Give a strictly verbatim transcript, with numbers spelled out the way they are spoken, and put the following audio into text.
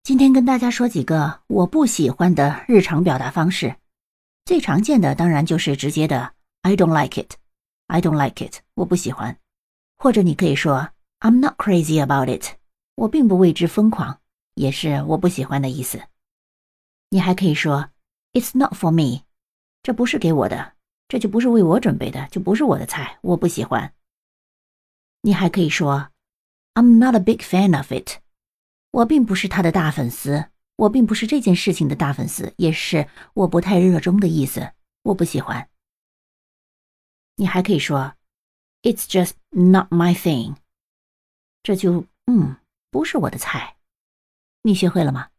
今天跟大家说几个我不喜欢的日常表达方式。最常见的当然就是直接的 I don't like it I don't like it 我不喜欢。或者你可以说 I'm not crazy about it 我并不为之疯狂，也是我不喜欢的意思。你还可以说 It's not for me 这不是给我的，这就不是为我准备的，就不是我的菜，我不喜欢。你还可以说 I'm not a big fan of it我并不是他的大粉丝，我并不是这件事情的大粉丝，也是我不太热衷的意思，我不喜欢。你还可以说 It's just not my thing 这就嗯不是我的菜。你学会了吗？